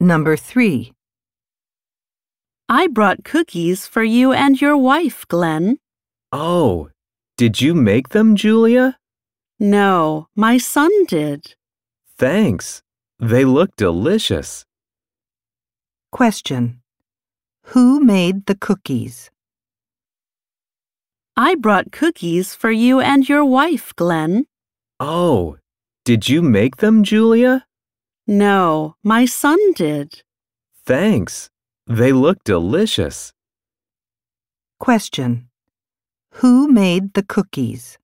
Number 3. I brought cookies for you and your wife, Glenn. Oh, did you make them, Julia? No, my son did. Thanks. They look delicious. Question. Who made the cookies? I brought cookies for you and your wife, Glenn. Oh, did you make them, Julia? No, my son did. Thanks. They look delicious. Question. Who made the cookies?